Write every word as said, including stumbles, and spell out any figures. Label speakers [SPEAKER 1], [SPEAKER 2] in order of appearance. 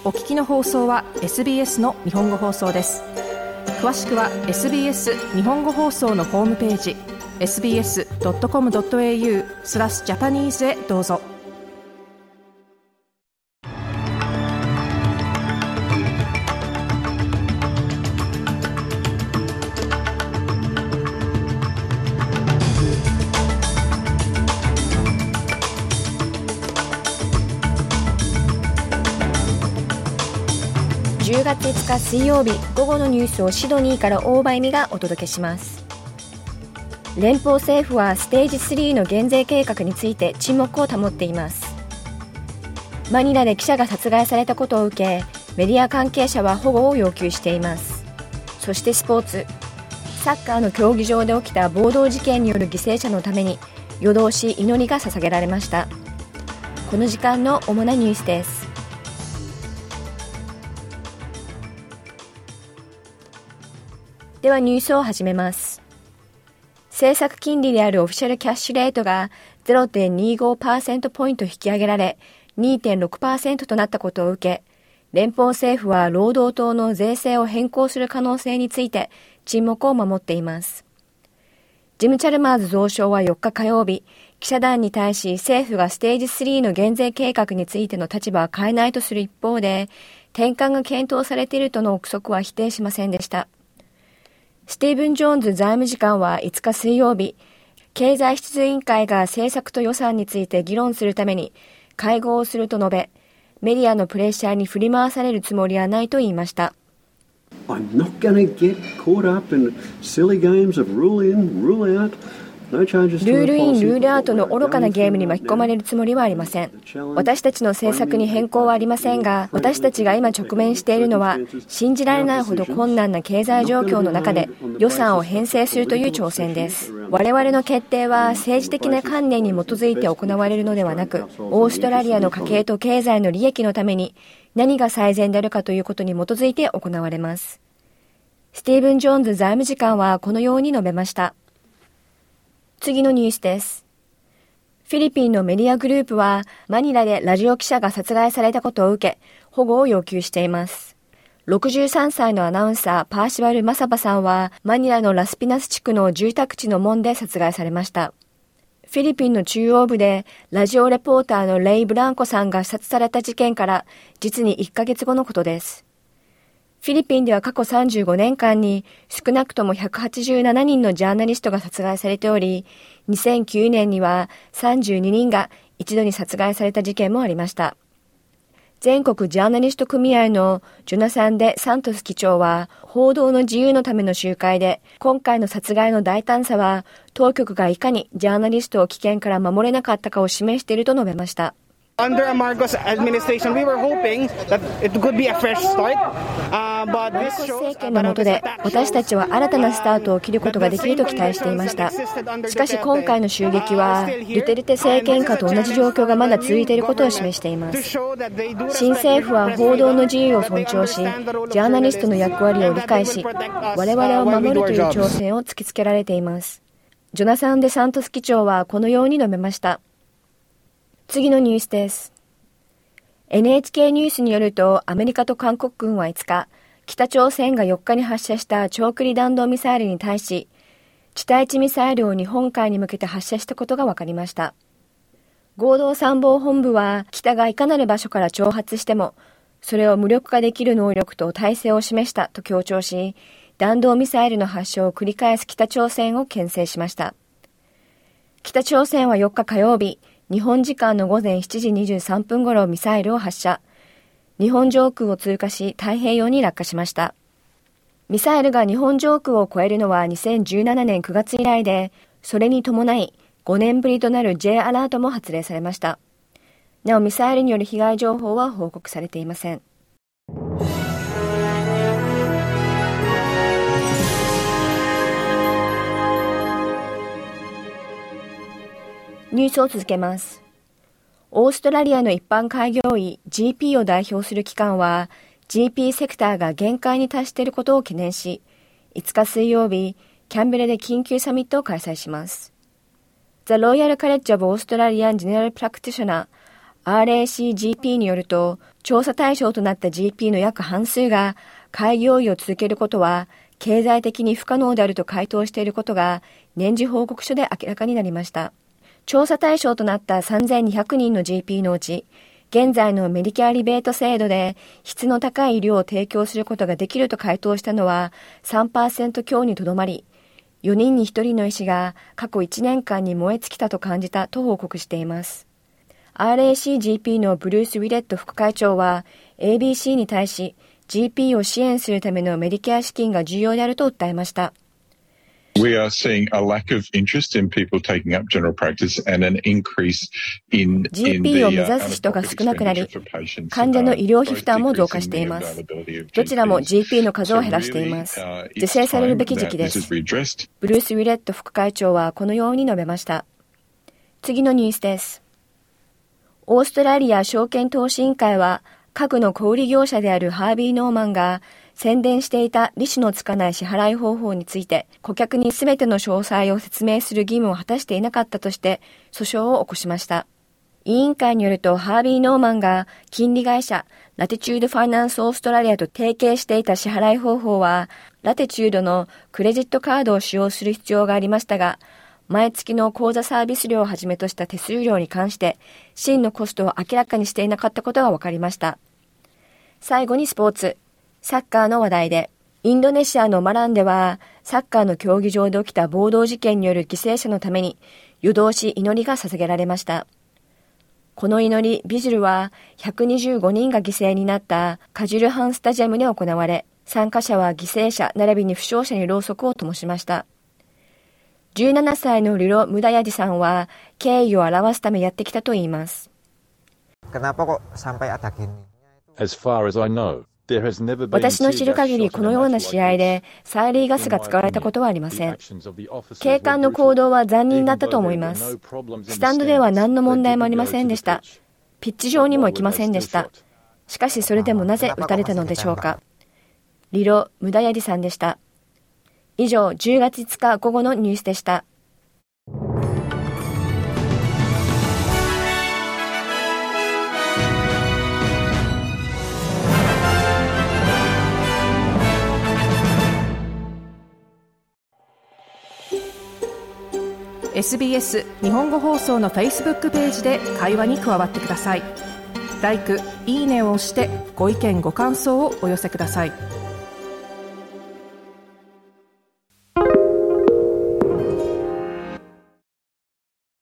[SPEAKER 1] お聞きの放送は エスビーエス の日本語放送です。詳しくは エスビーエス 日本語放送のホームページ エスビーエスドットコムドットエーユー スラスジャパニーズへどうぞ。
[SPEAKER 2] じゅうがついつか水曜日、午後のニュースをシドニーから大場恵美がお届けします。連邦政府はステージスリーの減税計画について沈黙を保っています。マニラで記者が殺害されたことを受け、メディア関係者は保護を要求しています。そしてスポーツ、サッカーの競技場で起きた暴動事件による犠牲者のために夜通し祈りが捧げられました。この時間の主なニュースです。ではニュースを始めます。政策金利であるオフィシャルキャッシュレートが ゼロてんにじゅうごパーセント ポイント引き上げられ にてんろくパーセント となったことを受け、連邦政府は労働党の税制を変更する可能性について沈黙を守っています。ジム・チャルマーズ増相はよっか火曜日、記者団に対し政府がステージスリーの減税計画についての立場は変えないとする一方で、転換が検討されているとの憶測は否定しませんでした。スティーブン・ジョーンズ財務次官はいつか水曜日、経済質委員会が政策と予算について議論するために会合をすると述べ、メディアのプレッシャーに振り回されるつもりはないと言いました。
[SPEAKER 3] I'm not going to get caught up in silly games of rule in, rule out.
[SPEAKER 2] ルールイン、ルールアウトの愚かなゲームに巻き込まれるつもりはありません。私たちの政策に変更はありませんが、私たちが今直面しているのは、信じられないほど困難な経済状況の中で予算を編成するという挑戦です。我々の決定は政治的な観念に基づいて行われるのではなく、オーストラリアの家計と経済の利益のために何が最善であるかということに基づいて行われます。スティーブン・ジョーンズ財務次官はこのように述べました。次のニュースです。フィリピンのメディアグループはマニラでラジオ記者が殺害されたことを受け、保護を要求しています。ろくじゅうさんさいのアナウンサーパーシバル・マサバさんはマニラのラスピナス地区の住宅地の門で殺害されました。フィリピンの中央部でラジオレポーターのレイ・ブランコさんが刺殺された事件から実にいっかげつごのことです。フィリピンでは過去さんじゅうごねんかんに少なくともひゃくはちじゅうななにんのジャーナリストが殺害されており、にせんきゅうねんにはさんじゅうににんが一度に殺害された事件もありました。全国ジャーナリスト組合のジョナサン・デ・サントス議長は、報道の自由のための集会で、今回の殺害の大胆さは、当局がいかにジャーナリストを危険から守れなかったかを示していると述べました。
[SPEAKER 4] Under Marcos administration, we were hoping that it could be a fresh start. Uh, but this shows
[SPEAKER 2] 政権の下で私たちは新たなスタートを切ることができると期待していました。しかし今回の襲撃はドゥテルテ政権下と同じ状況がまだ続いていることを示しています。新政府は報道の自由を尊重し、ジャーナリストの役割を理解し、我々を守るという挑戦を突きつけられています。ジョナサン・デ・サントス議長はこのように述べました。次のニュースです。エヌエイチケー ニュースによると、アメリカと韓国軍はいつか、北朝鮮がよっかに発射した長距離弾道ミサイルに対し、地対地ミサイルを日本海に向けて発射したことが分かりました。合同参謀本部は、北がいかなる場所から挑発しても、それを無力化できる能力と体制を示したと強調し、弾道ミサイルの発射を繰り返す北朝鮮を牽制しました。北朝鮮はよっか火曜日、日本時間の午前しちじにじゅうさんぷん頃ミサイルを発射。日本上空を通過し太平洋に落下しました。ミサイルが日本上空を越えるのはにせんじゅうななねんくがつ以来で、それに伴いごねんぶりとなる J アラートも発令されました。なおミサイルによる被害情報は報告されていません。ニュースを続けます。オーストラリアの一般開業医 ジーピー を代表する機関は ジーピー セクターが限界に達していることを懸念し、いつか水曜日、キャンベラで緊急サミットを開催します。The Royal College of Australian General Practitioner アールエーシージーピー によると、調査対象となった ジーピー の約半数が開業医を続けることは経済的に不可能であると回答していることが年次報告書で明らかになりました。調査対象となったさんぜんにひゃくにんの ジーピー のうち、現在のメディケアリベート制度で質の高い医療を提供することができると回答したのは さんパーセント 強にとどまり、よにんにひとりの医師が過去いちねんかんに燃え尽きたと感じたと報告しています。アールエーシージーピー のブルース・ウィレット副会長は エービーシー に対し ジーピー を支援するためのメディケア資金が重要であると訴えました。
[SPEAKER 5] We are seeing a lack of interest in people taking up general practice and an increase in
[SPEAKER 2] ジーピー を目指す人が少なくなり、患者の医療費負担も増加しています。どちらも ジーピー の数を減らしています。是正されるべき時期です。ブルース・ウィレット副会長はこのように述べました。次のニュースです。オーストラリア証券投資委員会は、家具の小売業者であるハービー・ノーマンが宣伝していた利子のつかない支払い方法について、顧客にすべての詳細を説明する義務を果たしていなかったとして訴訟を起こしました。委員会によると、ハービー・ノーマンが金利会社ラティチュード・ファイナンス・オーストラリアと提携していた支払い方法は、ラティチュードのクレジットカードを使用する必要がありましたが、毎月の口座サービス料をはじめとした手数料に関して真のコストを明らかにしていなかったことが分かりました。最後にスポーツ、サッカーの話題で、インドネシアのマランではサッカーの競技場で起きた暴動事件による犠牲者のために夜通し祈りが捧げられました。この祈り、ビジルはひゃくにじゅうごにんが犠牲になったカジュルハンスタジアムで行われ、参加者は犠牲者並びに負傷者にろうそくを灯しました。じゅうななさいのリロ・ムダヤディさんは敬意を表すためやってきたと言います。私の知る限りこのような試合で催涙ガスが使われたことはありません。警官の行動は残忍だったと思います。スタンドでは何の問題もありませんでした。ピッチ上にも行きませんでした。しかしそれでもなぜ撃たれたのでしょうか。リロ・ムダヤディさんでした。以上、じゅうがついつか午後のニュースでした。
[SPEAKER 1] エスビーエス 日本語放送の Facebook ページで会話に加わってください。ライク、いいねを押してご意見ご感想をお寄せください。